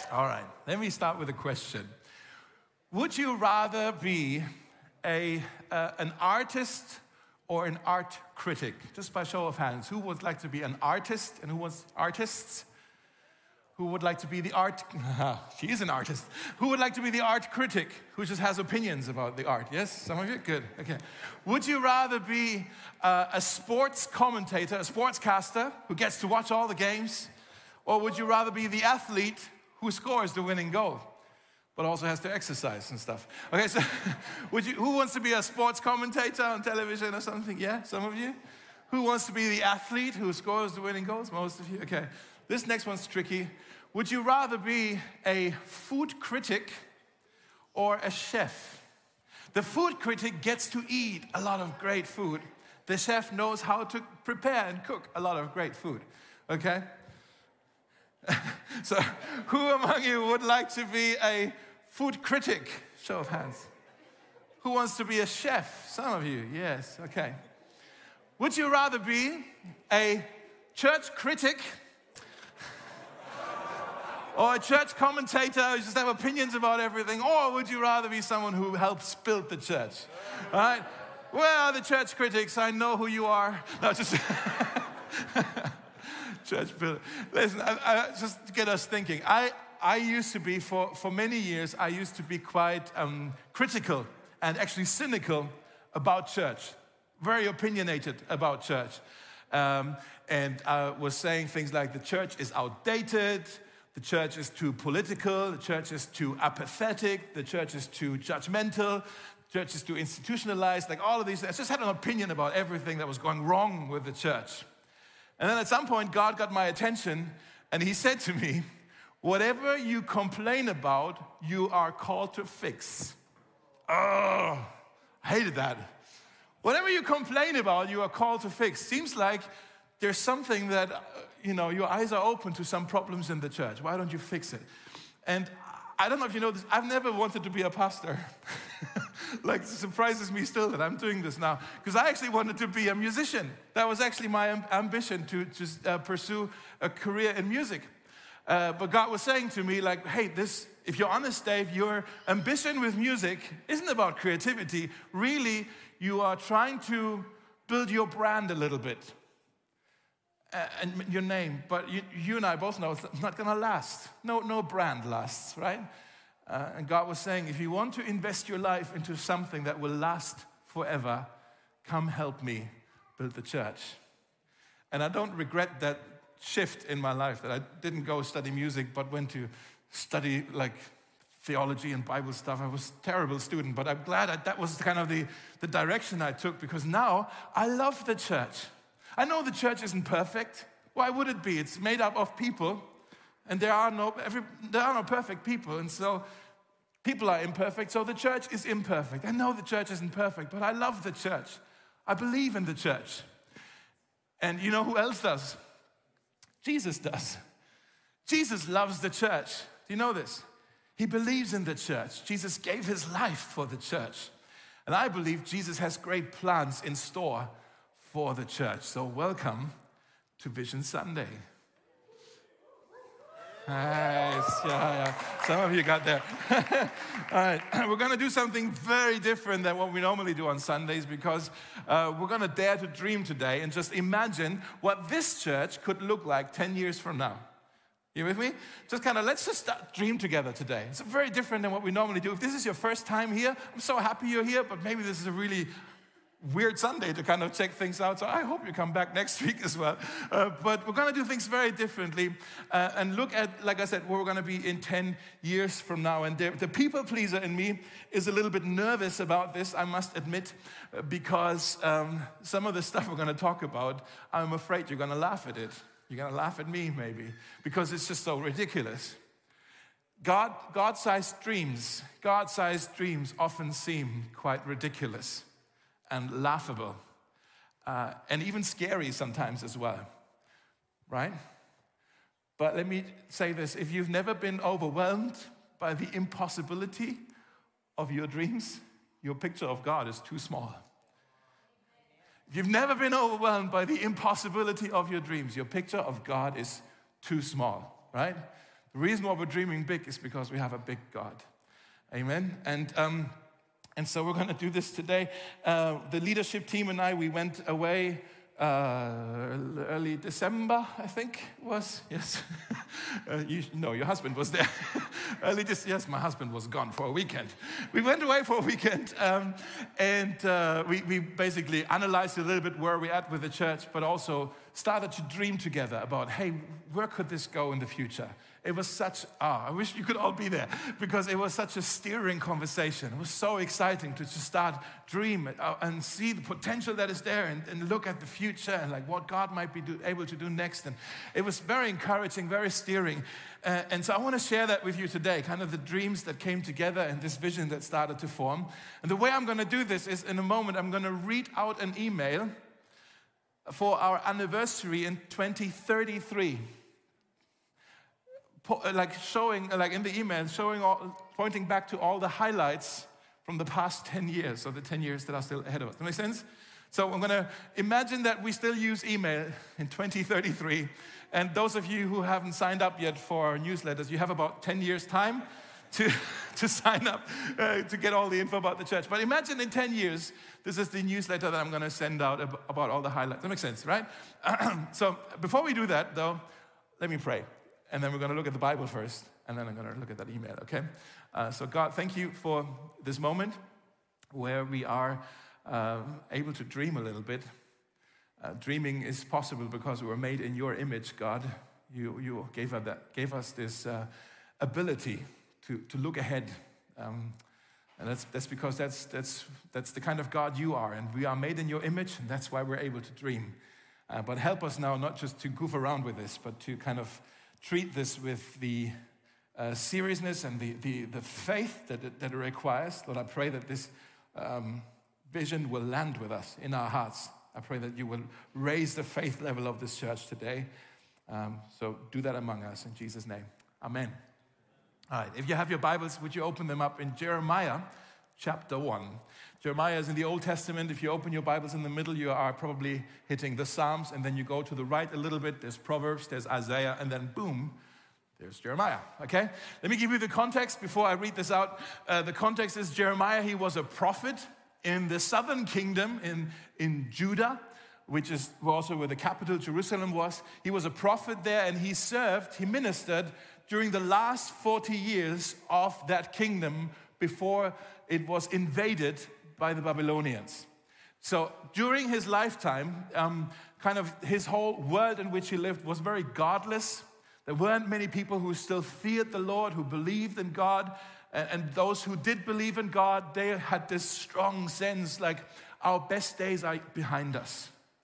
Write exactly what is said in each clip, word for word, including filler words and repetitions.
All right, let me start with a question. Would you rather be a uh, an artist or an art critic? Just by show of hands, who would like to be an artist and who was artists? Who would like to be the art, she is an artist. Who would like to be the art critic who just has opinions about the art? Yes, some of you? Good, okay. Would you rather be uh, a sports commentator, a sportscaster who gets to watch all the games? Or would you rather be the athlete who scores the winning goal, but also has to exercise and stuff? Okay, so would you? Who wants to be a sports commentator on television or something? Yeah, some of you? Who wants to be the athlete who scores the winning goals? Most of you? Okay. This next one's tricky. Would you rather be a food critic or a chef? The food critic gets to eat a lot of great food. The chef knows how to prepare and cook a lot of great food, okay? So who among you would like to be a food critic? Show of hands. Who wants to be a chef? Some of you, yes, okay. Would you rather be a church critic or a church commentator who just have opinions about everything? Or would you rather be someone who helps build the church? All right? Where are the church critics? I know who you are. No, just church builder. Listen, I, I, just to get us thinking. I, I used to be, for, for many years, I used to be quite um, critical and actually cynical about church. Very opinionated about church. Um, and I was saying things like the church is outdated, the church is too political, the church is too apathetic, the church is too judgmental, the church is too institutionalized, like all of these things. I just had an opinion about everything that was going wrong with the church. And then at some point, God got my attention, and he said to me, whatever you complain about, you are called to fix. Oh, I hated that. Whatever you complain about, you are called to fix. Seems like there's something that, uh, you know, your eyes are open to some problems in the church. Why don't you fix it? And I don't know if you know this, I've never wanted to be a pastor. Like, it surprises me still that I'm doing this now. Because I actually wanted to be a musician. That was actually my amb- ambition to just uh, pursue a career in music. Uh, but God was saying to me, like, hey, this, if you're honest, Dave, your ambition with music isn't about creativity. Really, you are trying to build your brand a little bit. Uh, and your name, but you, you and I both know it's not going to last. No, no brand lasts, right? Uh, and God was saying, if you want to invest your life into something that will last forever, come help me build the church. And I don't regret that shift in my life, that I didn't go study music, but went to study like theology and Bible stuff. I was a terrible student, but I'm glad I, that was kind of the, the direction I took, because now I love the church. I know the church isn't perfect. Why would it be? It's made up of people, and there are no every, there are no perfect people, and so people are imperfect, so the church is imperfect. I know the church isn't perfect, but I love the church. I believe in the church. And you know who else does? Jesus does. Jesus loves the church. Do you know this? He believes in the church. Jesus gave his life for the church. And I believe Jesus has great plans in store for the church. So welcome to Vision Sunday. Nice, yeah, yeah. Some of you got there. All right, we're going to do something very different than what we normally do on Sundays, because uh, we're going to dare to dream today and just imagine what this church could look like ten years from now. You with me? Just kind of, let's just start, dream together today. It's very different than what we normally do. If this is your first time here, I'm so happy you're here, but maybe this is a really weird Sunday to kind of check things out. So I hope you come back next week as well. Uh, but we're going to do things very differently uh, and look at, like I said, where we're going to be in ten years from now. And the, the people pleaser in me is a little bit nervous about this, I must admit, uh, because um, some of the stuff we're going to talk about, I'm afraid you're going to laugh at it. You're going to laugh at me maybe, because it's just so ridiculous. God, God-sized dreams, God-sized dreams often seem quite ridiculous and laughable, uh, and even scary sometimes as well, right? But let me say this, if you've never been overwhelmed by the impossibility of your dreams, your picture of God is too small. If you've never been overwhelmed by the impossibility of your dreams, your picture of God is too small, right? The reason why we're dreaming big is because we have a big God. Amen. And um, and so we're going to do this today. Uh, the leadership team and I, we went away uh, early December, I think it was. Yes. uh, you, no, your husband was there. early this, yes, my husband was gone for a weekend. We went away for a weekend, um, and uh, we, we basically analyzed a little bit where we're at with the church, but also started to dream together about, hey, where could this go in the future? It was such, ah, I wish you could all be there, because it was such a steering conversation. It was so exciting to just start dream and see the potential that is there, and, and look at the future and like what God might be do, able to do next. And it was very encouraging, very steering. Uh, and so I want to share that with you today, kind of the dreams that came together and this vision that started to form. And the way I'm going to do this is in a moment, I'm going to read out an email for our anniversary in twenty thirty-three. Like showing, like in the email, showing, all, pointing back to all the highlights from the past ten years, or the ten years that are still ahead of us. Does that make sense? So I'm going to imagine that we still use email in twenty thirty-three. And those of you who haven't signed up yet for our newsletters, you have about ten years time to, to sign up uh, to get all the info about the church. But imagine in ten years, this is the newsletter that I'm going to send out ab- about all the highlights. That makes sense, right? So before we do that, though, let me pray. And then we're going to look at the Bible first, and then I'm going to look at that email, okay? Uh, so God, thank you for this moment where we are um, able to dream a little bit. Uh, dreaming is possible because we were made in your image, God. You, you gave, us that, gave us this uh, ability to, to look ahead. Um, and that's, that's because that's, that's, that's the kind of God you are, and we are made in your image, and that's why we're able to dream. Uh, but help us now not just to goof around with this, but to kind of treat this with the uh, seriousness and the, the, the faith that it, that it requires. Lord, I pray that this um, vision will land with us in our hearts. I pray that you will raise the faith level of this church today. Um, so do that among us in Jesus' name. Amen. All right, if you have your Bibles, would you open them up in Jeremiah chapter one. Jeremiah is in the Old Testament. If you open your Bibles in the middle, you are probably hitting the Psalms, and then you go to the right a little bit. There's Proverbs, there's Isaiah, and then boom, there's Jeremiah, okay? Let me give you the context before I read this out. Uh, the context is Jeremiah, he was a prophet in the southern kingdom in, in Judah, which is also where the capital, Jerusalem, was. He was a prophet there, and he served, he ministered during the last forty years of that kingdom before it was invaded by the Babylonians. So during his lifetime, um, kind of his whole world in which he lived was very godless. There weren't many people who still feared the Lord, who believed in God. And, and those who did believe in God, they had this strong sense like our best days are behind us.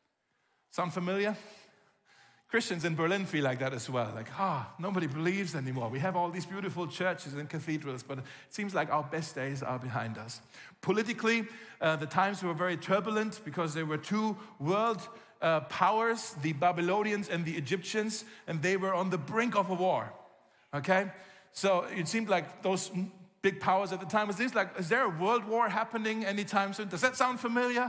Sound familiar? Christians in Berlin feel like that as well. Like, ah, nobody believes anymore. We have all these beautiful churches and cathedrals, but it seems like our best days are behind us. Politically, uh, the times were very turbulent because there were two world uh, powers, the Babylonians and the Egyptians, and they were on the brink of a war, okay? So it seemed like those big powers at the time, it seems like, is there a world war happening anytime soon? Does that sound familiar?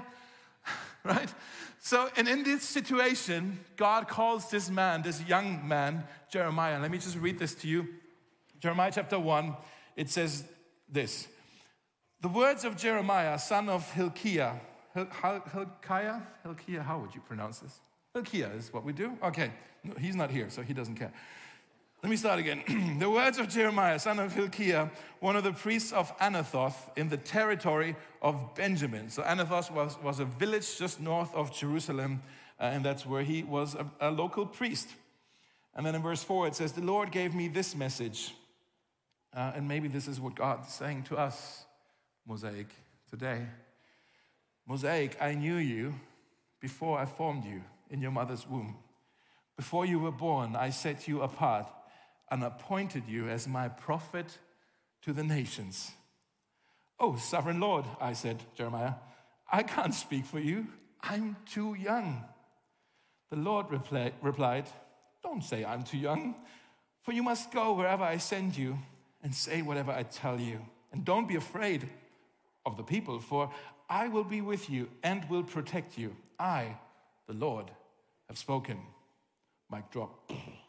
Right? So, and in this situation, God calls this man, this young man, Jeremiah. Let me just read this to you. Jeremiah chapter one, it says this. The words of Jeremiah, son of Hilkiah. Hil- Hil- Hilkiah? Hilkiah, how would you pronounce this? Hilkiah is what we do? Okay, no, he's not here, so he doesn't care. Let me start again. The words of Jeremiah, son of Hilkiah, one of the priests of Anathoth in the territory of Benjamin. So Anathoth was, was a village just north of Jerusalem, uh, and that's where he was a, a local priest. And then in verse four, it says, the Lord gave me this message. Uh, and maybe this is what God's saying to us, Mosaic, today. Mosaic, I knew you before I formed you in your mother's womb. Before you were born, I set you apart and appointed you as my prophet to the nations. Oh, sovereign Lord, I said, Jeremiah, I can't speak for you. I'm too young. The Lord reply, replied, don't say I'm too young, for you must go wherever I send you and say whatever I tell you. And don't be afraid of the people, for I will be with you and will protect you. I, the Lord, have spoken. Mic drop.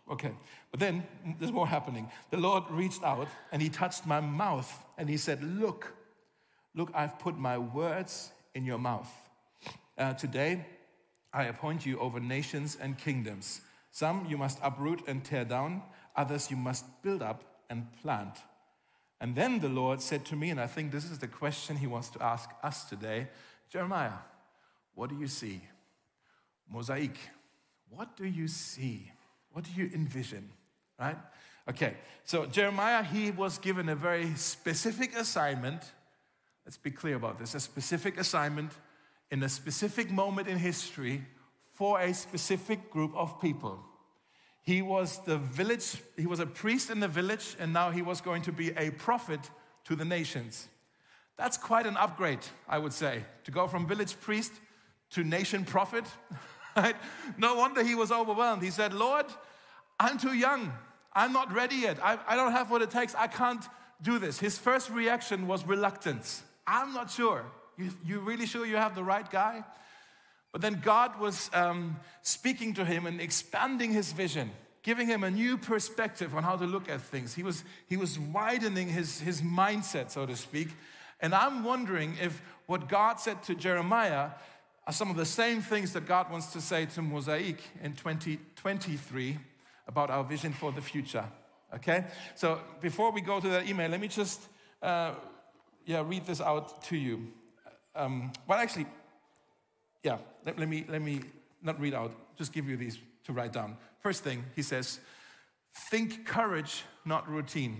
Okay, but then there's more happening. The Lord reached out and he touched my mouth and he said, look, look, I've put my words in your mouth. Uh, today, I appoint you over nations and kingdoms. Some you must uproot and tear down, others you must build up and plant. And then the Lord said to me, and I think this is the question he wants to ask us today, Jeremiah, what do you see? Mosaic, what do you see? What do you envision, right? Okay, so Jeremiah, he was given a very specific assignment. Let's be clear about this. A specific assignment in a specific moment in history for a specific group of people. He was the village, he was a priest in the village, and now he was going to be a prophet to the nations. That's quite an upgrade, I would say, to go from village priest to nation prophet. Right? No wonder he was overwhelmed. He said, Lord, I'm too young. I'm not ready yet. I, I don't have what it takes. I can't do this. His first reaction was reluctance. I'm not sure. You, you really sure you have the right guy? But then God was um, speaking to him and expanding his vision, giving him a new perspective on how to look at things. He was, he was widening his, his mindset, so to speak. And I'm wondering if what God said to Jeremiah are some of the same things that God wants to say to Mosaic in twenty twenty-three about our vision for the future, okay? So before we go to that email, let me just uh, yeah, read this out to you. Um, well, actually, yeah, let, let me let me not read out, just give you these to write down. First thing, he says, think courage, not routine.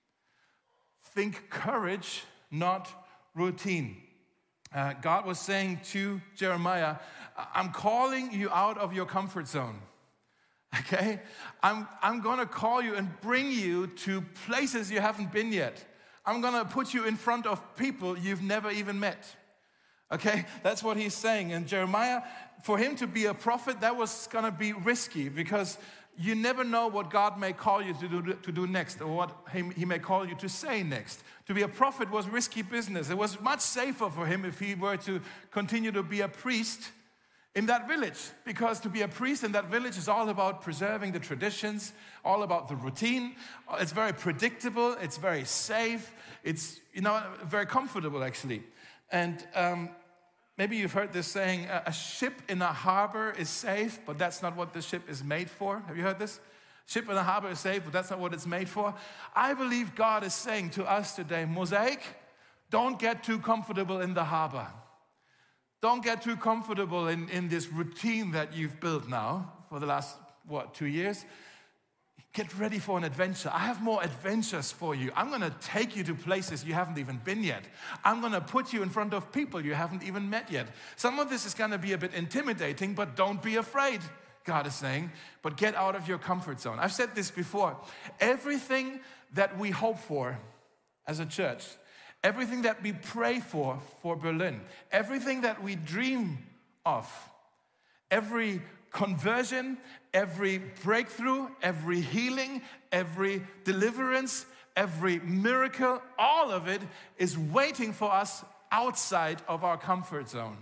Think courage, not routine. Uh, God was saying to Jeremiah, I'm calling you out of your comfort zone, okay? I'm, I'm going to call you and bring you to places you haven't been yet. I'm going to put you in front of people you've never even met, okay? That's what he's saying. And Jeremiah, for him to be a prophet, that was going to be risky because you never know what God may call you to do, to do next or what he, he may call you to say next. To be a prophet was risky business. It was much safer for him if he were to continue to be a priest in that village, because to be a priest in that village is all about preserving the traditions, all about the routine. It's very predictable. It's very safe. It's, you know, very comfortable, actually. And um, maybe you've heard this saying, a ship in a harbor is safe, but that's not what the ship is made for. Have you heard this? Ship in a harbor is safe, but that's not what it's made for. I believe God is saying to us today, Mosaic, don't get too comfortable in the harbor. Don't get too comfortable in, in this routine that you've built now for the last, what, two years. Get ready for an adventure. I have more adventures for you. I'm going to take you to places you haven't even been yet. I'm going to put you in front of people you haven't even met yet. Some of this is going to be a bit intimidating, but don't be afraid, God is saying. But get out of your comfort zone. I've said this before. Everything that we hope for as a church, everything that we pray for for Berlin, everything that we dream of, every conversion, every breakthrough, every healing, every deliverance, every miracle, all of it is waiting for us outside of our comfort zone.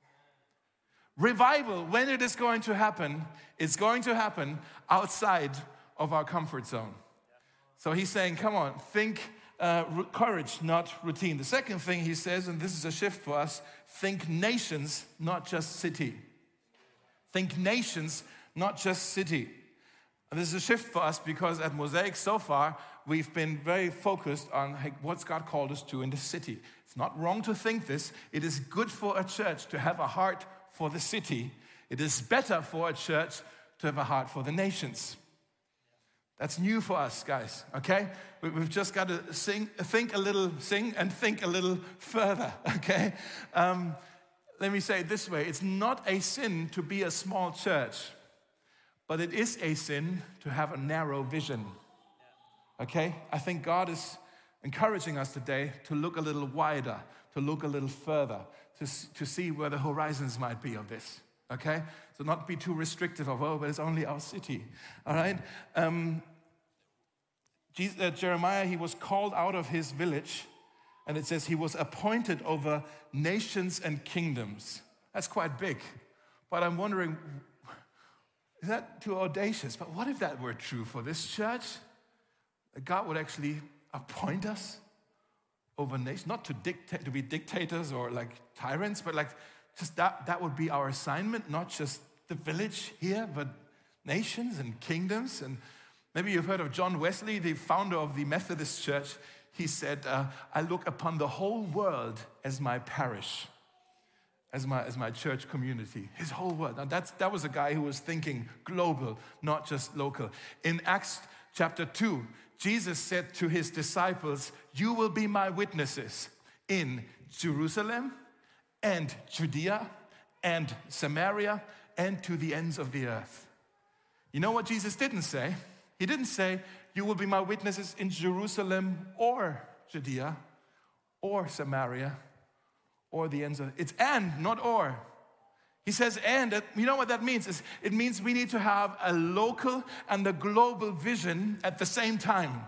Revival, when it is going to happen, it's going to happen outside of our comfort zone. So he's saying, come on, think uh, courage, not routine. The second thing he says, and this is a shift for us, think nations, not just city. Think nations, not just city. And this is a shift for us because at Mosaic so far, we've been very focused on hey, what's God called us to in the city. It's not wrong to think this. It is good for a church to have a heart for the city. It is better for a church to have a heart for the nations. That's new for us, guys, okay? We've just got to sing, think a little, sing and think a little further, okay? Um, let me say it this way. It's not a sin to be a small church, but it is a sin to have a narrow vision, okay? I think God is encouraging us today to look a little wider, to look a little further, to, to see where the horizons might be of this, okay? So not be too restrictive of, oh, but it's only our city, all right? Um, Jesus, uh, Jeremiah, he was called out of his village, and it says he was appointed over nations and kingdoms. That's quite big, but I'm wondering, is that too audacious? But what if that were true for this church? That God would actually appoint us over nations, not to dictate, to be dictators or like tyrants, but like just that, that would be our assignment, not just the village here, but nations and kingdoms. And maybe you've heard of John Wesley, the founder of the Methodist Church. He said, uh, I look upon the whole world as my parish, as my, as my church community, his whole world. Now that's, that was a guy who was thinking global, not just local. In Acts chapter two, Jesus said to his disciples, you will be my witnesses in Jerusalem and Judea and Samaria and to the ends of the earth. You know what Jesus didn't say? He didn't say, you will be my witnesses in Jerusalem or Judea or Samaria or the ends of, it's and, not or. He says and, you know what that means? It's, it means we need to have a local and a global vision at the same time.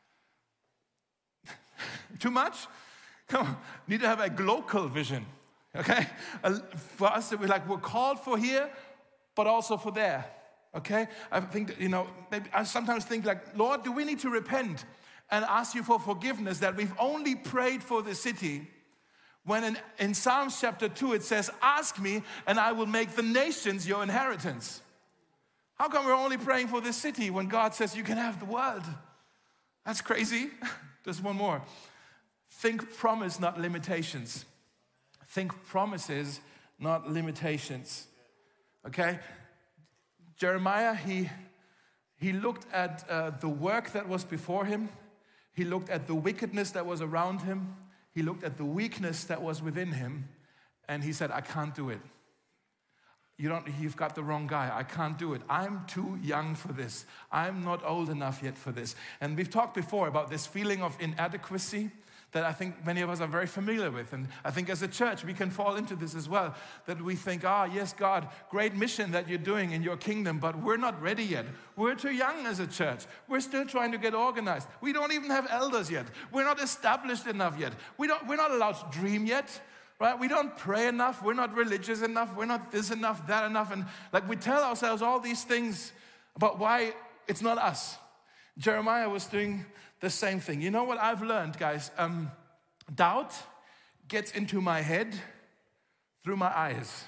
Too much? Come on, need to have a local vision, okay? For us, we're like, we're called for here, but also for there, okay? I think, that, you know, maybe I sometimes think like, Lord, do we need to repent and ask you for forgiveness that we've only prayed for the city, when in, in Psalms chapter two, it says, ask me and I will make the nations your inheritance. How come we're only praying for this city when God says you can have the world? That's crazy. There's one more. Think promise, not limitations. Think promises, not limitations. Okay? Jeremiah, he, he looked at uh, the work that was before him. He looked at the wickedness that was around him. He looked at the weakness that was within him, and he said, I can't do it. You don't, you've got the wrong guy. I can't do it. I'm too young for this. I'm not old enough yet for this. And we've talked before about this feeling of inadequacy that I think many of us are very familiar with. And I think as a church, we can fall into this as well, that we think, ah, yes, God, great mission that you're doing in your kingdom, but we're not ready yet. We're too young as a church. We're still trying to get organized. We don't even have elders yet. We're not established enough yet. We don't, we're not allowed to dream yet, right? We don't pray enough. We're not religious enough. We're not this enough, that enough. And like we tell ourselves all these things about why it's not us. Jeremiah was doing the same thing. You know what I've learned, guys? Um, doubt gets into my head through my eyes.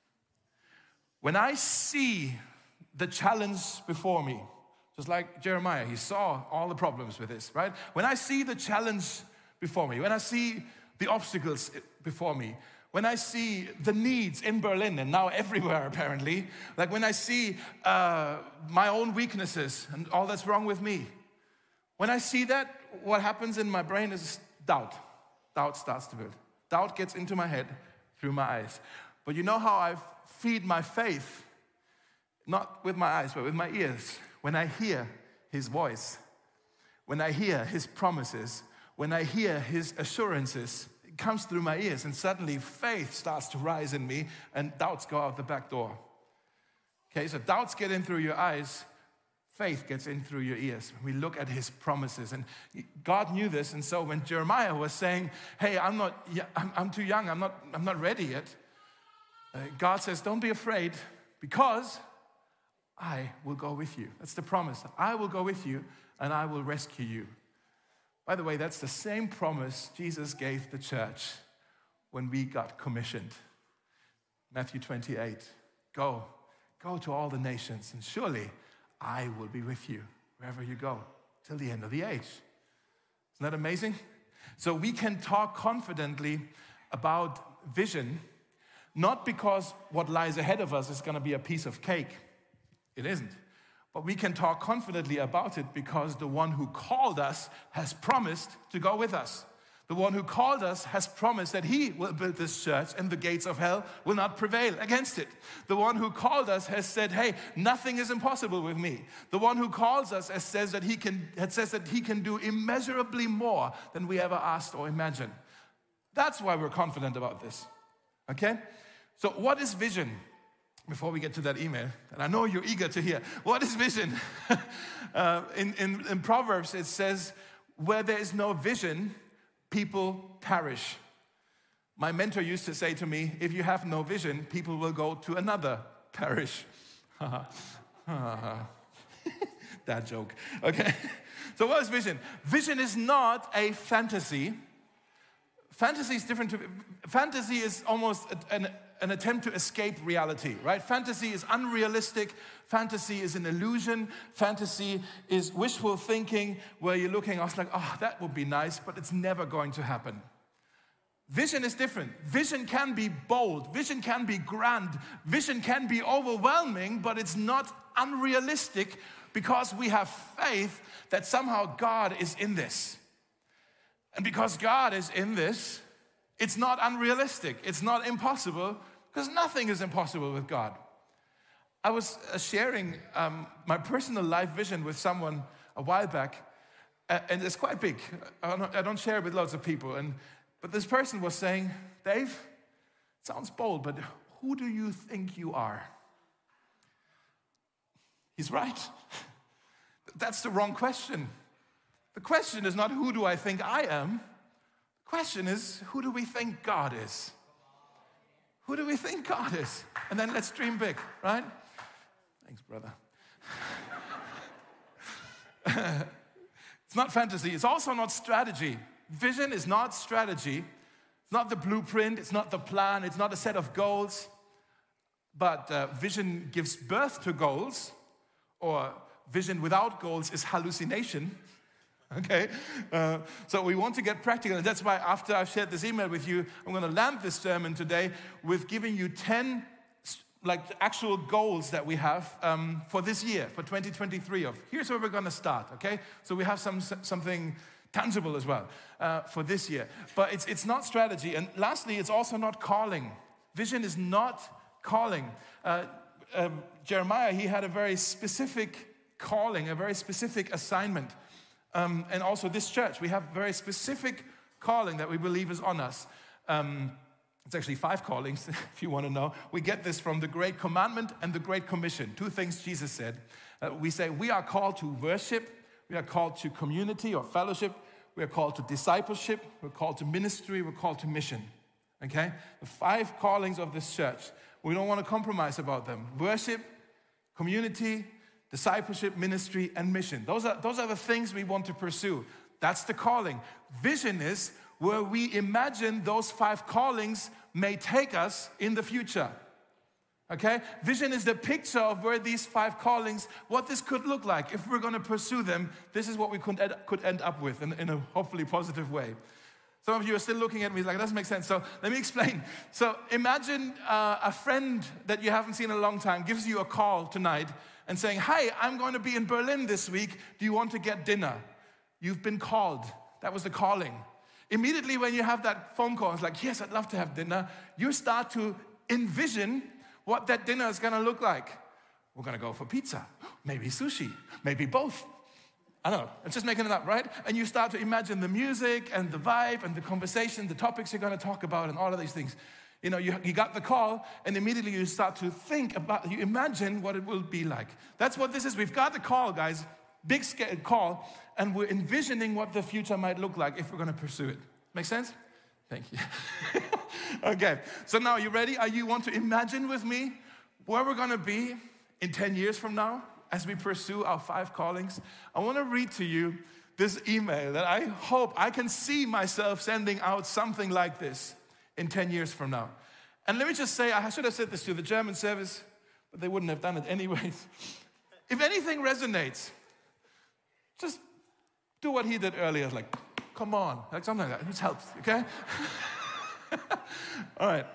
When I see the challenge before me, just like Jeremiah, he saw all the problems with this, right? When I see the challenge before me, when I see the obstacles before me, when I see the needs in Berlin and now everywhere apparently, like when I see uh, my own weaknesses and all that's wrong with me, when I see that, what happens in my brain is doubt. Doubt starts to build. Doubt gets into my head through my eyes. But you know how I feed my faith? Not with my eyes, but with my ears. When I hear his voice, when I hear his promises, when I hear his assurances, it comes through my ears, and suddenly faith starts to rise in me, and doubts go out the back door. Okay, so doubts get in through your eyes, faith gets in through your ears. We look at his promises, and God knew this. And so when Jeremiah was saying, "Hey, I'm not, I'm, I'm too young. I'm not, I'm not ready yet," uh, God says, "Don't be afraid, because I will go with you." That's the promise. I will go with you, and I will rescue you. By the way, that's the same promise Jesus gave the church when we got commissioned. Matthew twenty-eight. Go, go to all the nations, and surely I will be with you wherever you go till the end of the age. Isn't that amazing? So we can talk confidently about vision, not because what lies ahead of us is going to be a piece of cake. It isn't. But we can talk confidently about it because the one who called us has promised to go with us. The one who called us has promised that he will build this church and the gates of hell will not prevail against it. The one who called us has said, hey, nothing is impossible with me. The one who calls us has says that he can, has says that he can do immeasurably more than we ever asked or imagined. That's why we're confident about this, okay? So what is vision? Before we get to that email, and I know you're eager to hear, what is vision? uh, in, in, in Proverbs, it says, where there is no vision, people perish. My mentor used to say to me, if you have no vision, people will go to another parish. That joke. Okay. So what is vision? Vision is not a fantasy. Fantasy is different. To, fantasy is almost an, an attempt to escape reality, right? Fantasy is unrealistic. Fantasy is an illusion. Fantasy is wishful thinking where you're looking, I was like, oh, that would be nice, but it's never going to happen. Vision is different. Vision can be bold. Vision can be grand. Vision can be overwhelming, but it's not unrealistic because we have faith that somehow God is in this. And because God is in this, it's not unrealistic. It's not impossible because nothing is impossible with God. I was uh, sharing um, my personal life vision with someone a while back, uh, and it's quite big. I don't, I don't share it with lots of people. And But this person was saying, Dave, it sounds bold, but who do you think you are? He's right. That's the wrong question. The question is not who do I think I am. The question is who do we think God is? Who do we think God is? And then let's dream big, right? Thanks, brother. It's not fantasy. It's also not strategy. Vision is not strategy. It's not the blueprint. It's not the plan. It's not a set of goals. But uh, vision gives birth to goals, or vision without goals is hallucination. Okay? Uh, so we want to get practical. And that's why after I've shared this email with you, I'm going to land this sermon today with giving you ten like actual goals that we have um, for this year, for twenty twenty-three. Of here's where we're going to start. Okay? So we have some something tangible as well uh, for this year. But it's it's not strategy. And lastly, it's also not calling. Vision is not calling. Uh, um, Jeremiah, he had a very specific calling, a very specific assignment. Um, and also this church, we have very specific calling that we believe is on us. Um, it's actually five callings, if you want to know. We get this from the Great Commandment and the Great Commission. Two things Jesus said. Uh, we say we are called to worship. We are called to community or fellowship. We are called to discipleship. We're called to ministry. We're called to mission. Okay? The five callings of this church. We don't want to compromise about them. Worship, community, discipleship, ministry, and mission. Those are, those are the things we want to pursue. That's the calling. Vision is where we imagine those five callings may take us in the future. Okay? Vision is the picture of where these five callings, what this could look like. If we're going to pursue them, this is what we could end, could end up with in, in a hopefully positive way. Some of you are still looking at me like, that doesn't make sense. So let me explain. So imagine uh, a friend that you haven't seen in a long time gives you a call tonight and saying, hi, I'm going to be in Berlin this week. Do you want to get dinner? You've been called. That was the calling. Immediately when you have that phone call, it's like, yes, I'd love to have dinner. You start to envision what that dinner is going to look like. We're going to go for pizza, maybe sushi, maybe both. I don't know, I'm just making it up, right? And you start to imagine the music and the vibe and the conversation, the topics you're going to talk about and all of these things. You know, you, you got the call and immediately you start to think about, you imagine what it will be like. That's what this is. We've got the call, guys, big scale call, and we're envisioning what the future might look like if we're going to pursue it. Make sense? Thank you. Okay, so now you ready? Are you want to imagine with me where we're going to be in ten years from now? As we pursue our five callings, I want to read to you this email that I hope I can see myself sending out something like this in ten years from now. And let me just say, I should have said this to the German service, but they wouldn't have done it anyways. If anything resonates, just do what he did earlier. Like, come on, like something like that. It helps, okay? All right.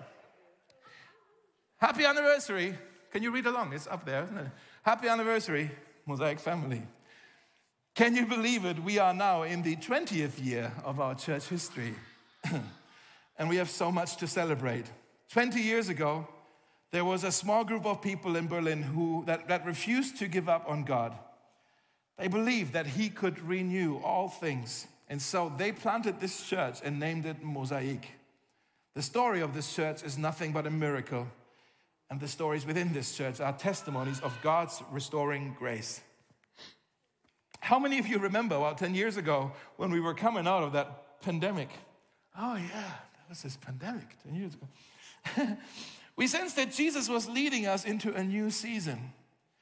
Happy anniversary. Can you read along? It's up there, isn't it? Happy anniversary, Mosaic family. Can you believe it? We are now in the twentieth year of our church history. And we have so much to celebrate. twenty years ago, there was a small group of people in Berlin who that, that refused to give up on God. They believed that he could renew all things. And so they planted this church and named it Mosaic. The story of this church is nothing but a miracle. And the stories within this church are testimonies of God's restoring grace. How many of you remember, well, ten years ago, when we were coming out of that pandemic? Oh yeah, that was this pandemic ten years ago. We sensed that Jesus was leading us into a new season.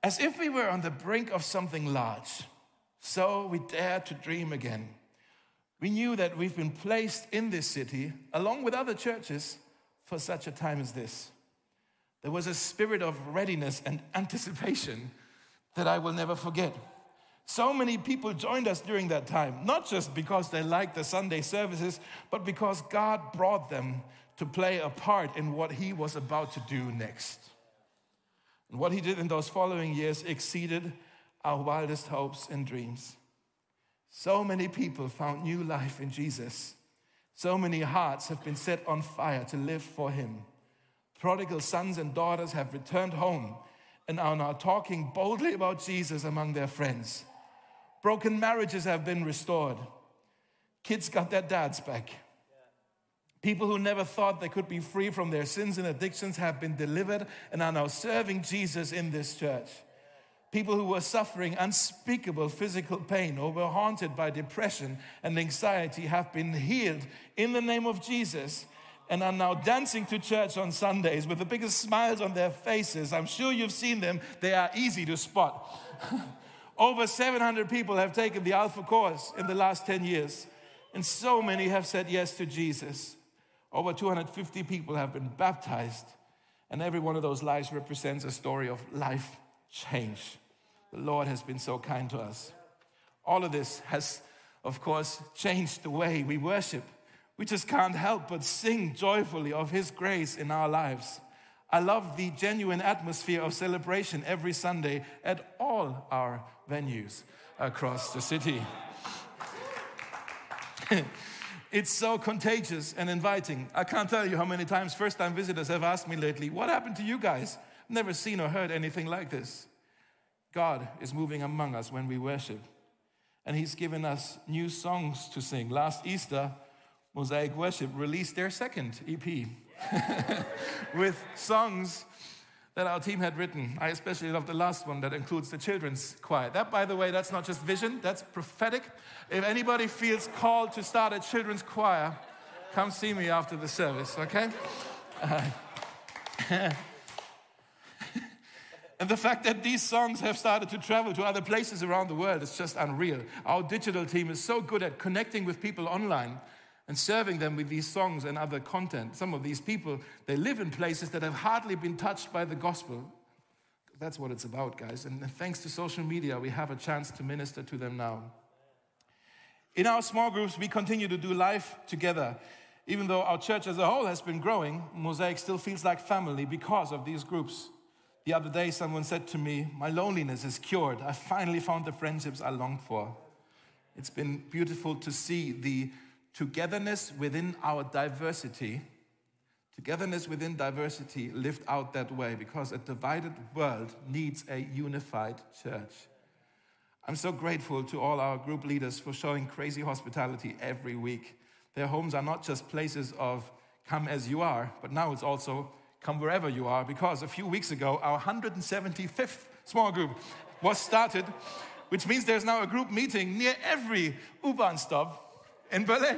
As if we were on the brink of something large, so we dared to dream again. We knew that we've been placed in this city, along with other churches, for such a time as this. There was a spirit of readiness and anticipation that I will never forget. So many people joined us during that time, not just because they liked the Sunday services, but because God brought them to play a part in what he was about to do next. And what he did in those following years exceeded our wildest hopes and dreams. So many people found new life in Jesus. So many hearts have been set on fire to live for him. Prodigal sons and daughters have returned home and are now talking boldly about Jesus among their friends. Broken marriages have been restored. Kids got their dads back. People who never thought they could be free from their sins and addictions have been delivered and are now serving Jesus in this church. People who were suffering unspeakable physical pain or were haunted by depression and anxiety have been healed in the name of Jesus and are now dancing to church on Sundays with the biggest smiles on their faces. I'm sure you've seen them. They are easy to spot. Over seven hundred people have taken the Alpha course in the last ten years, and so many have said yes to Jesus. Over two hundred fifty people have been baptized, and every one of those lives represents a story of life change. The Lord has been so kind to us. All of this has, of course, changed the way we worship. We just can't help but sing joyfully of his grace in our lives. I love the genuine atmosphere of celebration every Sunday at all our venues across the city. It's so contagious and inviting. I can't tell you how many times first-time visitors have asked me lately, what happened to you guys? Never seen or heard anything like this. God is moving among us when we worship. And he's given us new songs to sing. Last Easter, Mosaic Worship released their second E P with songs that our team had written. I especially love the last one that includes the children's choir. That, by the way, that's not just vision, that's prophetic. If anybody feels called to start a children's choir, come see me after the service, okay? Uh, and the fact that these songs have started to travel to other places around the world is just unreal. Our digital team is so good at connecting with people online and serving them with these songs and other content. Some of these people, they live in places that have hardly been touched by the gospel. That's what it's about, guys. And thanks to social media, we have a chance to minister to them now. In our small groups, we continue to do life together. Even though our church as a whole has been growing, Mosaic still feels like family because of these groups. The other day, someone said to me, my loneliness is cured. I finally found the friendships I longed for. It's been beautiful to see the togetherness within our diversity, togetherness within diversity lived out that way, because a divided world needs a unified church. I'm so grateful to all our group leaders for showing crazy hospitality every week. Their homes are not just places of come as you are, but now it's also come wherever you are, because a few weeks ago, our one hundred seventy-fifth small group was started, which means there's now a group meeting near every U-Bahn stop in Berlin.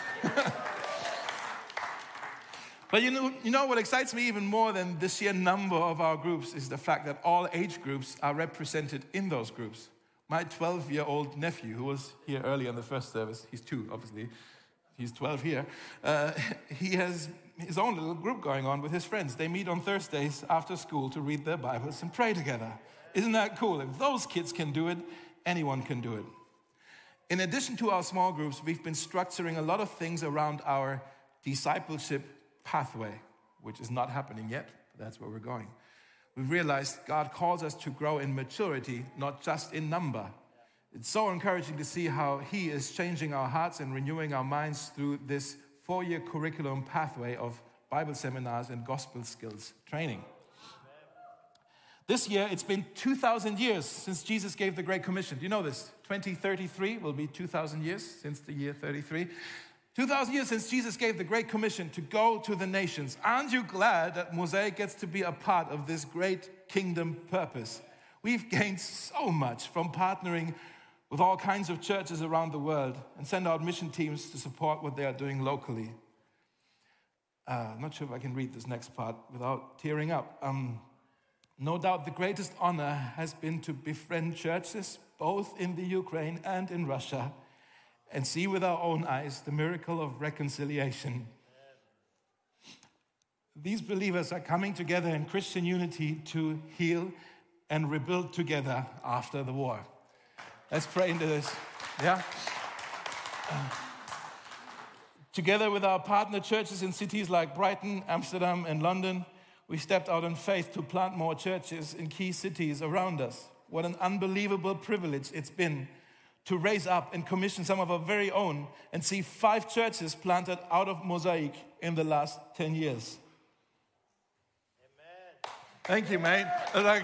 But you know, you know what excites me even more than the sheer number of our groups is the fact that all age groups are represented in those groups. My twelve-year-old nephew, who was here early in the first service, he's two, obviously, he's twelve here, uh, he has his own little group going on with his friends. They meet on Thursdays after school to read their Bibles and pray together. Isn't that cool? If those kids can do it, anyone can do it. In addition to our small groups, we've been structuring a lot of things around our discipleship pathway, which is not happening yet, but that's where we're going. We've realized God calls us to grow in maturity, not just in number. It's so encouraging to see how he is changing our hearts and renewing our minds through this four-year curriculum pathway of Bible seminars and gospel skills training. This year, it's been two thousand years since Jesus gave the Great Commission. Do you know this? twenty thirty-three will be two thousand years since the year thirty-three. two thousand years since Jesus gave the Great Commission to go to the nations. Aren't you glad that Mosaic gets to be a part of this great kingdom purpose? We've gained so much from partnering with all kinds of churches around the world and send out mission teams to support what they are doing locally. Uh, I'm not sure if I can read this next part without tearing up. Um, No doubt the greatest honor has been to befriend churches, both in the Ukraine and in Russia, and see with our own eyes the miracle of reconciliation. These believers are coming together in Christian unity to heal and rebuild together after the war. Let's pray into this. Yeah? Uh, together with our partner churches in cities like Brighton, Amsterdam, and London, we stepped out in faith to plant more churches in key cities around us. What an unbelievable privilege it's been to raise up and commission some of our very own and see five churches planted out of Mosaic in the last ten years. Amen. Thank you, mate. Like,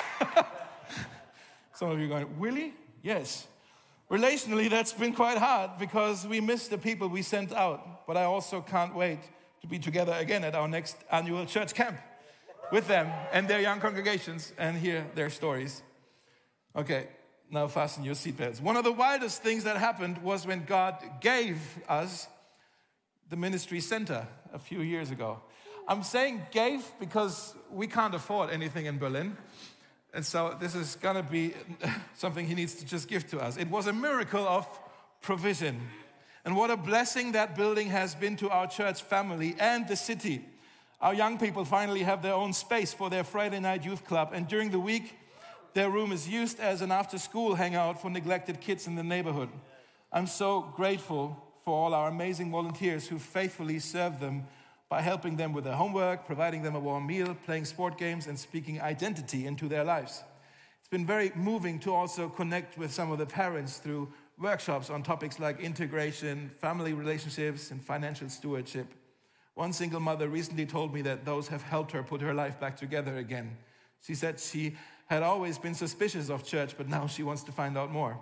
some of you are going, really? Yes. Relationally, that's been quite hard because we miss the people we sent out. But I also can't wait to be together again at our next annual church camp with them and their young congregations and hear their stories. Okay, now fasten your seatbelts. One of the wildest things that happened was when God gave us the ministry center a few years ago. I'm saying gave because we can't afford anything in Berlin. And so this is going to be something he needs to just give to us. It was a miracle of provision. And what a blessing that building has been to our church family and the city. Our young people finally have their own space for their Friday night youth club. And during the week, their room is used as an after-school hangout for neglected kids in the neighborhood. I'm so grateful for all our amazing volunteers who faithfully serve them by helping them with their homework, providing them a warm meal, playing sport games, and speaking identity into their lives. It's been very moving to also connect with some of the parents through workshops on topics like integration, family relationships, and financial stewardship. One single mother recently told me that those have helped her put her life back together again. She said she had always been suspicious of church, but now she wants to find out more.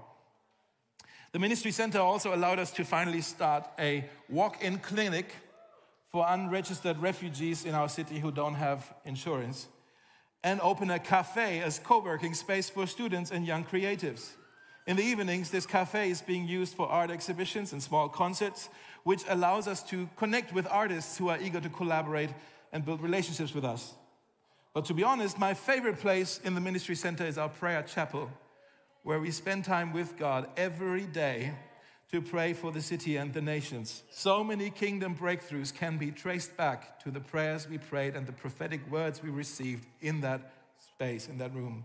The ministry center also allowed us to finally start a walk-in clinic for unregistered refugees in our city who don't have insurance, and open a cafe as co-working space for students and young creatives. In the evenings, this cafe is being used for art exhibitions and small concerts, which allows us to connect with artists who are eager to collaborate and build relationships with us. But to be honest, my favorite place in the ministry center is our prayer chapel, where we spend time with God every day to pray for the city and the nations. So many kingdom breakthroughs can be traced back to the prayers we prayed and the prophetic words we received in that space, in that room.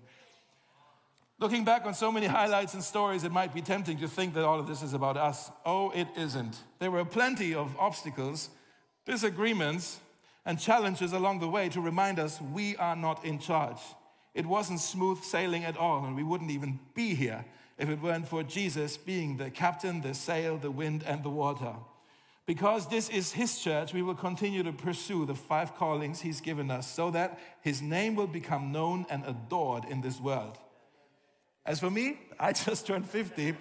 Looking back on so many highlights and stories, it might be tempting to think that all of this is about us. Oh, it isn't. There were plenty of obstacles, disagreements, and challenges along the way to remind us we are not in charge. It wasn't smooth sailing at all, and we wouldn't even be here if it weren't for Jesus being the captain, the sail, the wind, and the water. Because this is his church, we will continue to pursue the five callings he's given us so that his name will become known and adored in this world. As for me, I just turned fifty.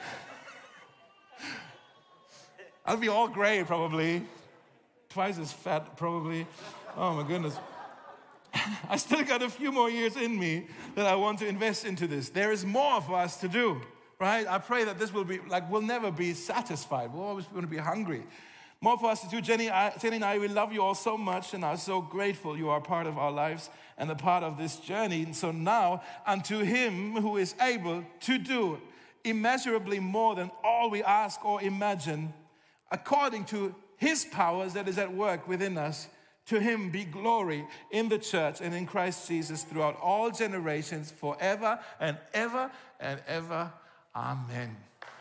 I'll be all gray probably, twice as fat probably. Oh my goodness. I still got a few more years in me that I want to invest into this. There is more for us to do, right? I pray that this will be, like, we'll never be satisfied. We're always going to be hungry. More for us to do. Jenny, I, Jenny and I, we love you all so much and are so grateful you are part of our lives and a part of this journey. And so now, unto him who is able to do immeasurably more than all we ask or imagine, according to his powers that is at work within us, to him be glory in the church and in Christ Jesus throughout all generations, forever and ever and ever. Amen.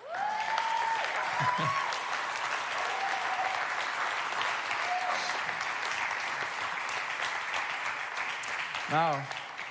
Now,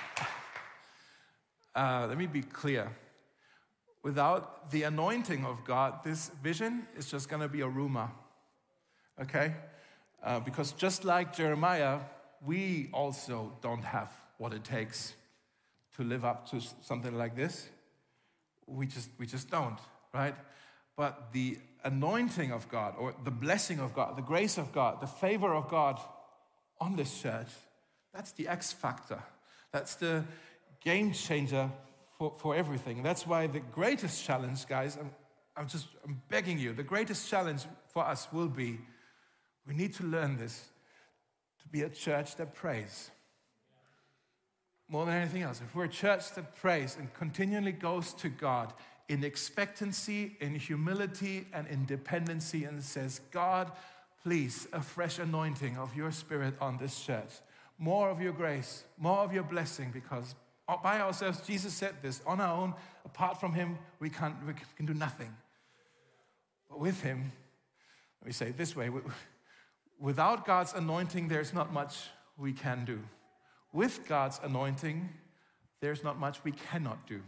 uh, let me be clear. Without the anointing of God, this vision is just going to be a rumor, okay? Uh, because just like Jeremiah, we also don't have what it takes to live up to something like this. We just, we just don't, right? But the anointing of God, or the blessing of God, the grace of God, the favor of God on this church, that's the X factor. That's the game changer for, for everything. That's why the greatest challenge, guys, I'm, I'm just I'm begging you, the greatest challenge for us will be, we need to learn this, to be a church that prays. more than anything else, if we're a church that prays and continually goes to God in expectancy, in humility, and in dependency, and says, God, please, a fresh anointing of your Spirit on this church. More of your grace, more of your blessing, because by ourselves, Jesus said this, on our own, apart from him, we can't, we can do nothing. But with him, let me say it this way, without God's anointing, there's not much we can do. With God's anointing, there's not much we cannot do.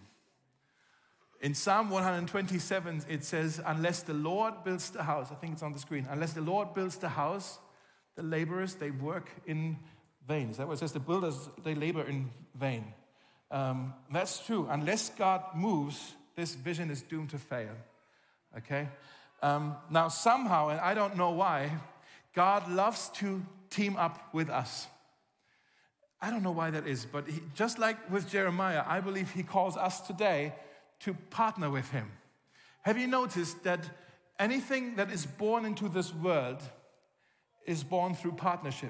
In Psalm one twenty-seven, it says, unless the Lord builds the house, I think it's on the screen, unless the Lord builds the house, the laborers, they work in vain. Is that what it says? The builders, they labor in vain. Um, that's true. Unless God moves, this vision is doomed to fail. Okay? Um, now, somehow, and I don't know why, God loves to team up with us. I don't know why that is, but he, just like with Jeremiah, I believe he calls us today to partner with him. Have you noticed that anything that is born into this world is born through partnership?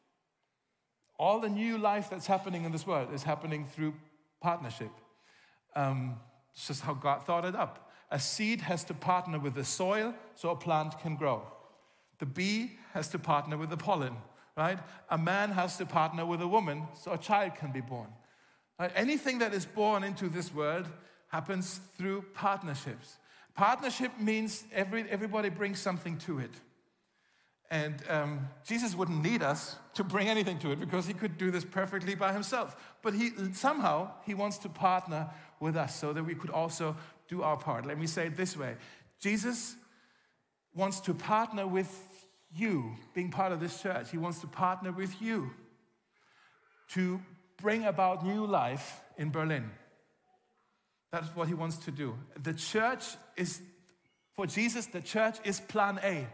All the new life that's happening in this world is happening through partnership. Um, it's just how God thought it up. A seed has to partner with the soil so a plant can grow. The bee has to partner with the pollen. Right? A man has to partner with a woman so a child can be born. Right? Anything that is born into this world happens through partnerships. Partnership means every, everybody brings something to it. And um, Jesus wouldn't need us to bring anything to it because he could do this perfectly by himself. But he somehow he wants to partner with us so that we could also do our part. Let me say it this way. Jesus wants to partner with you being part of this church. He wants to partner with you to bring about new life in Berlin. That's what he wants to do. The church is, for Jesus, the church is plan A.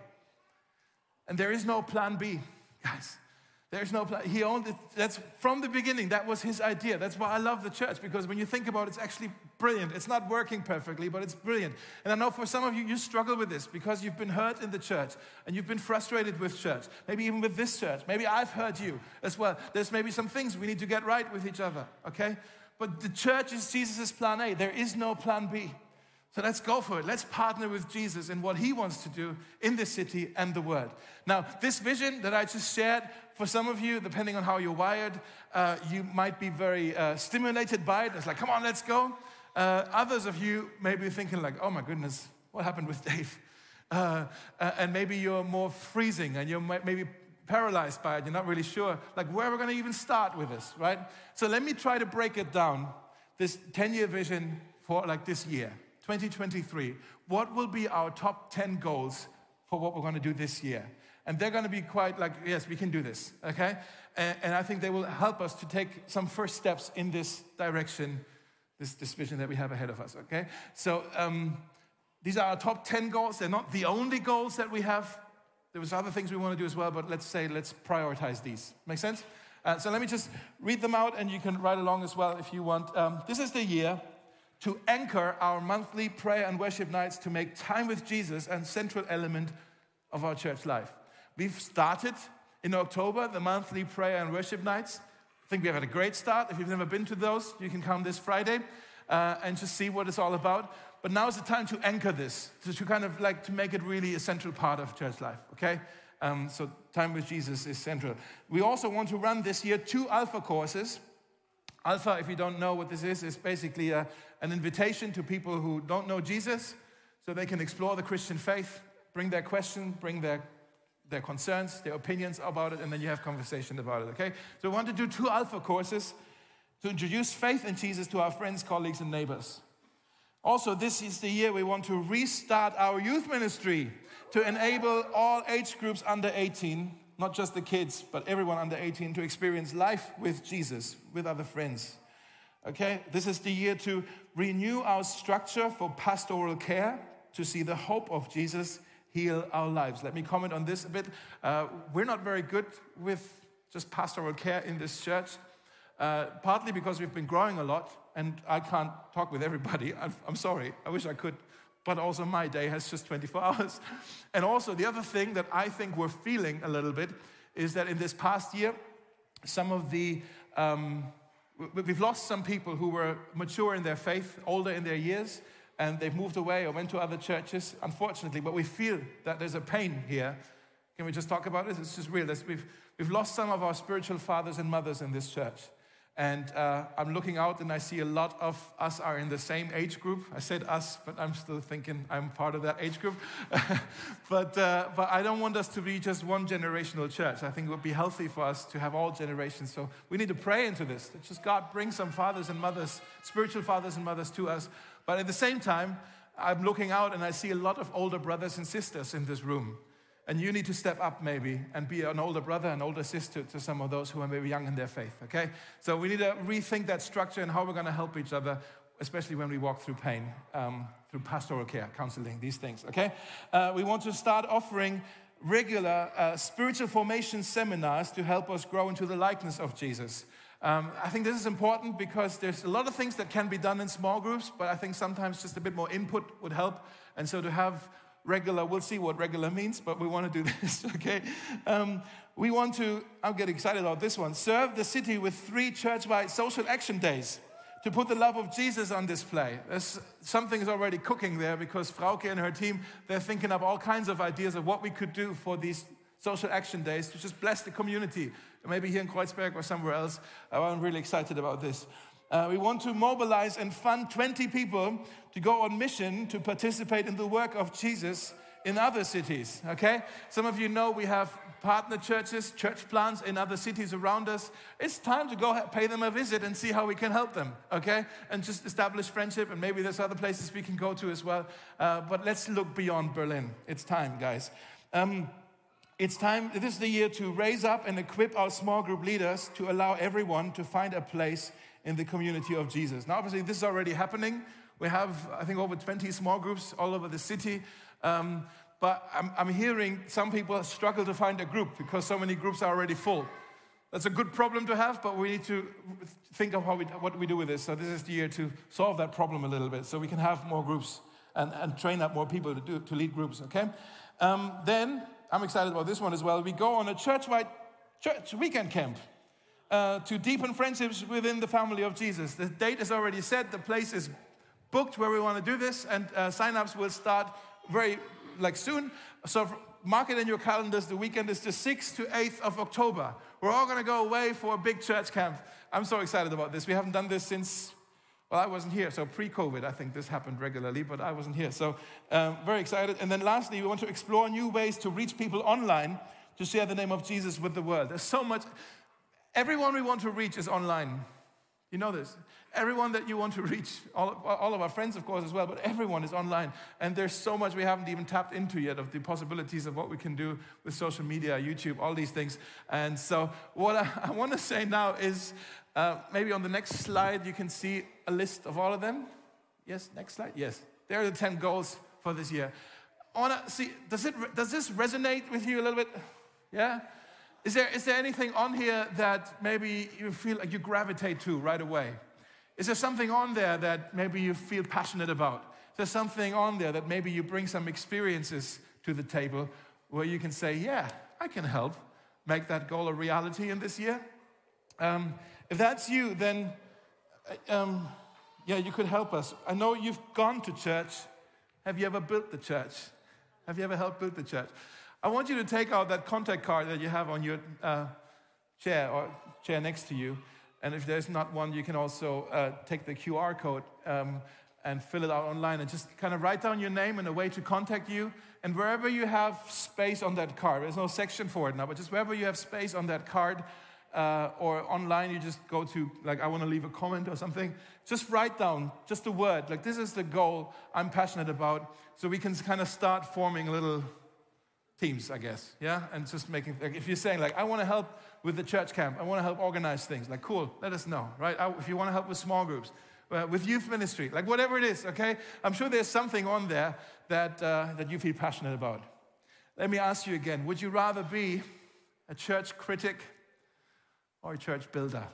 And there is no plan B, guys. There's no plan. He owned it. That's from the beginning. That was his idea. That's why I love the church, because when you think about it, it's actually brilliant. It's not working perfectly, but it's brilliant. And I know for some of you, you struggle with this because you've been hurt in the church and you've been frustrated with church. Maybe even with this church. Maybe I've hurt you as well. There's maybe some things we need to get right with each other, okay? But the church is Jesus' plan A. There is no plan B. So let's go for it. Let's partner with Jesus in what he wants to do in this city and the world. Now, this vision that I just shared, for some of you, depending on how you're wired, uh, you might be very uh, stimulated by it. It's like, come on, let's go. Uh, others of you may be thinking like, oh my goodness, what happened with Dave? Uh, uh, and maybe you're more freezing and you're maybe paralyzed by it. You're not really sure, like, where we're going to even start with this, right? So let me try to break it down, this ten-year vision for like this year. twenty twenty-three, what will be our top ten goals for what we're going to do this year? And they're going to be quite like, yes, we can do this, okay? And, and I think they will help us to take some first steps in this direction, this, this vision that we have ahead of us, okay? So um, these are our top ten goals. They're not the only goals that we have. There was other things we want to do as well, but let's say, let's prioritize these. Make sense? Uh, so let me just read them out, and you can write along as well if you want. Um, this is the year to anchor our monthly prayer and worship nights to make time with Jesus a central element of our church life. We've started in October the monthly prayer and worship nights. I think we've had a great start. If you've never been to those, you can come this Friday uh, and just see what it's all about. But now is the time to anchor this, to, to kind of like to make it really a central part of church life, okay? Um, so time with Jesus is central. We also want to run this year two Alpha courses. Alpha, if you don't know what this is, is basically a, an invitation to people who don't know Jesus so they can explore the Christian faith, bring their question, bring their, their concerns, their opinions about it, and then you have conversation about it, okay? So we want to do two Alpha courses to introduce faith in Jesus to our friends, colleagues, and neighbors. Also, this is the year we want to restart our youth ministry to enable all age groups under eighteen, not just the kids, but everyone under eighteen, to experience life with Jesus, with other friends. Okay, this is the year to renew our structure for pastoral care, to see the hope of Jesus heal our lives. Let me comment on this a bit. Uh, we're not very good with just pastoral care in this church, uh, partly because we've been growing a lot, and I can't talk with everybody. I'm, I'm sorry, I wish I could. But also my day has just twenty-four hours. And also the other thing that I think we're feeling a little bit is that in this past year, some of the, um, we- we've lost some people who were mature in their faith, older in their years, and they've moved away or went to other churches, unfortunately. But we feel that there's a pain here. Can we just talk about it? It's just real. There's- We've, we've lost some of our spiritual fathers and mothers in this church. And uh, I'm looking out and I see a lot of us are in the same age group. I said us, but I'm still thinking I'm part of that age group. but, uh, but I don't want us to be just one generational church. I think it would be healthy for us to have all generations. So we need to pray into this. That just God bring some fathers and mothers, spiritual fathers and mothers to us. But at the same time, I'm looking out and I see a lot of older brothers and sisters in this room. And you need to step up maybe and be an older brother, an older sister to some of those who are maybe young in their faith, okay? So we need to rethink that structure and how we're going to help each other, especially when we walk through pain, um, through pastoral care, counseling, these things, okay? Uh, we want to start offering regular uh, spiritual formation seminars to help us grow into the likeness of Jesus. Um, I think this is important because there's a lot of things that can be done in small groups, but I think sometimes just a bit more input would help. And so to have regular, we'll see what regular means, but we want to do this, okay? Um, we want to, I'm getting excited about this one, serve the city with three church-wide social action days to put the love of Jesus on display. There's, something is already cooking there because Frauke and her team, they're thinking up all kinds of ideas of what we could do for these social action days to just bless the community, maybe here in Kreuzberg or somewhere else. I'm really excited about this. Uh, we want to mobilize and fund twenty people to go on mission to participate in the work of Jesus in other cities, okay? Some of you know we have partner churches, church plants in other cities around us. It's time to go pay them a visit and see how we can help them, okay? And just establish friendship, and maybe there's other places we can go to as well. Uh, but let's look beyond Berlin. It's time, guys. Um, It's time, this is the year to raise up and equip our small group leaders to allow everyone to find a place in the community of Jesus. Now, obviously, this is already happening. We have, I think, over twenty small groups all over the city. Um, but I'm, I'm hearing some people struggle to find a group because so many groups are already full. That's a good problem to have, but we need to think of how we, what we do with this. So this is the year to solve that problem a little bit so we can have more groups and, and train up more people to, do, to lead groups, okay? Um, then, I'm excited about this one as well. We go on a church-wide church weekend camp uh, to deepen friendships within the family of Jesus. The date is already set. The place is booked where we want to do this, and uh, sign-ups will start very like soon. So mark it in your calendars. The weekend is the sixth to eighth of October. We're all going to go away for a big church camp. I'm so excited about this. We haven't done this since, well, I wasn't here. So pre-COVID, I think this happened regularly, but I wasn't here. So um, very excited. And then lastly, we want to explore new ways to reach people online to share the name of Jesus with the world. There's so much. Everyone we want to reach is online. You know this. Everyone that you want to reach, all, all of our friends, of course, as well, but everyone is online. And there's so much we haven't even tapped into yet of the possibilities of what we can do with social media, YouTube, all these things. And so what I, I want to say now is, uh, maybe on the next slide, you can see a list of all of them. Yes, next slide. Yes, there are the ten goals for this year. I want to see, does, it, does this resonate with you a little bit? Yeah? Is there, is there anything on here that maybe you feel like you gravitate to right away? Is there something on there that maybe you feel passionate about? Is there something on there that maybe you bring some experiences to the table where you can say, yeah, I can help make that goal a reality in this year? Um, if that's you, then um, yeah, you could help us. I know you've gone to church. Have you ever built the church? Have you ever helped build the church? I want you to take out that contact card that you have on your uh, chair or chair next to you. And if there's not one, you can also uh, take the Q R code um, and fill it out online and just kind of write down your name and a way to contact you. And wherever you have space on that card, there's no section for it now, but just wherever you have space on that card uh, or online, you just go to, like, I want to leave a comment or something. Just write down just a word. Like, this is the goal I'm passionate about. So we can kind of start forming little teams, I guess, yeah? And just making, like, if you're saying, like, I want to help with the church camp, I want to help organize things, like, cool, let us know, right? I, if you want to help with small groups, uh, with youth ministry, like, whatever it is, okay? I'm sure there's something on there that, uh, that you feel passionate about. Let me ask you again, would you rather be a church critic or a church builder?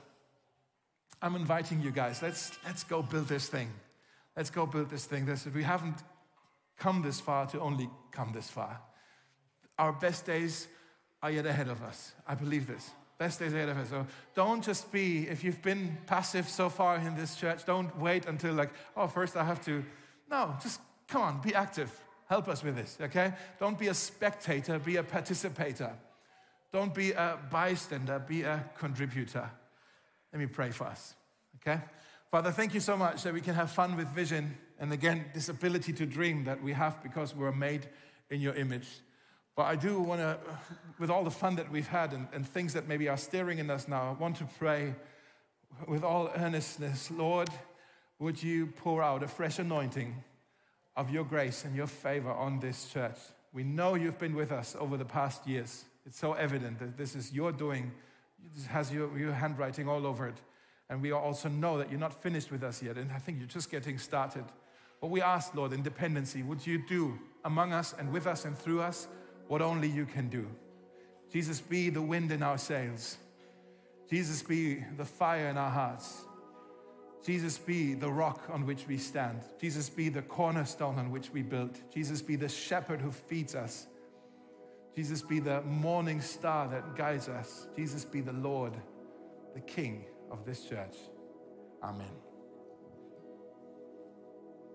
I'm inviting you guys, let's, let's go build this thing. Let's go build this thing. This, we haven't come this far to only come this far. Our best days are yet ahead of us. I believe this. Best days ahead of us. So don't just be, if you've been passive so far in this church, don't wait until like, oh, first I have to. No, just come on, be active. Help us with this, okay? Don't be a spectator, be a participator. Don't be a bystander, be a contributor. Let me pray for us, okay? Father, thank you so much that we can have fun with vision. And again, this ability to dream that we have because we're made in your image. But I do want to, with all the fun that we've had and, and things that maybe are stirring in us now, I want to pray with all earnestness, Lord, would you pour out a fresh anointing of your grace and your favor on this church. We know you've been with us over the past years. It's so evident that this is your doing. It has your, your handwriting all over it. And we also know that you're not finished with us yet. And I think you're just getting started. But we ask, Lord, in dependency, would you do among us and with us and through us what only you can do? Jesus, be the wind in our sails. Jesus, be the fire in our hearts. Jesus, be the rock on which we stand. Jesus, be the cornerstone on which we build. Jesus, be the shepherd who feeds us. Jesus, be the morning star that guides us. Jesus, be the Lord, the King of this church. Amen.